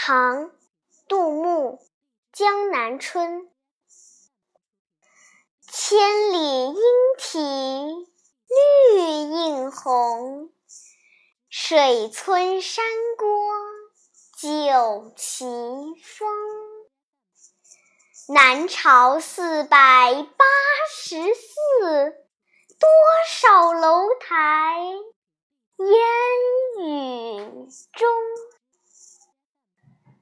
唐·杜牧《江南春》千里莺啼绿映红，水村山郭酒旗风。南朝484，多少楼台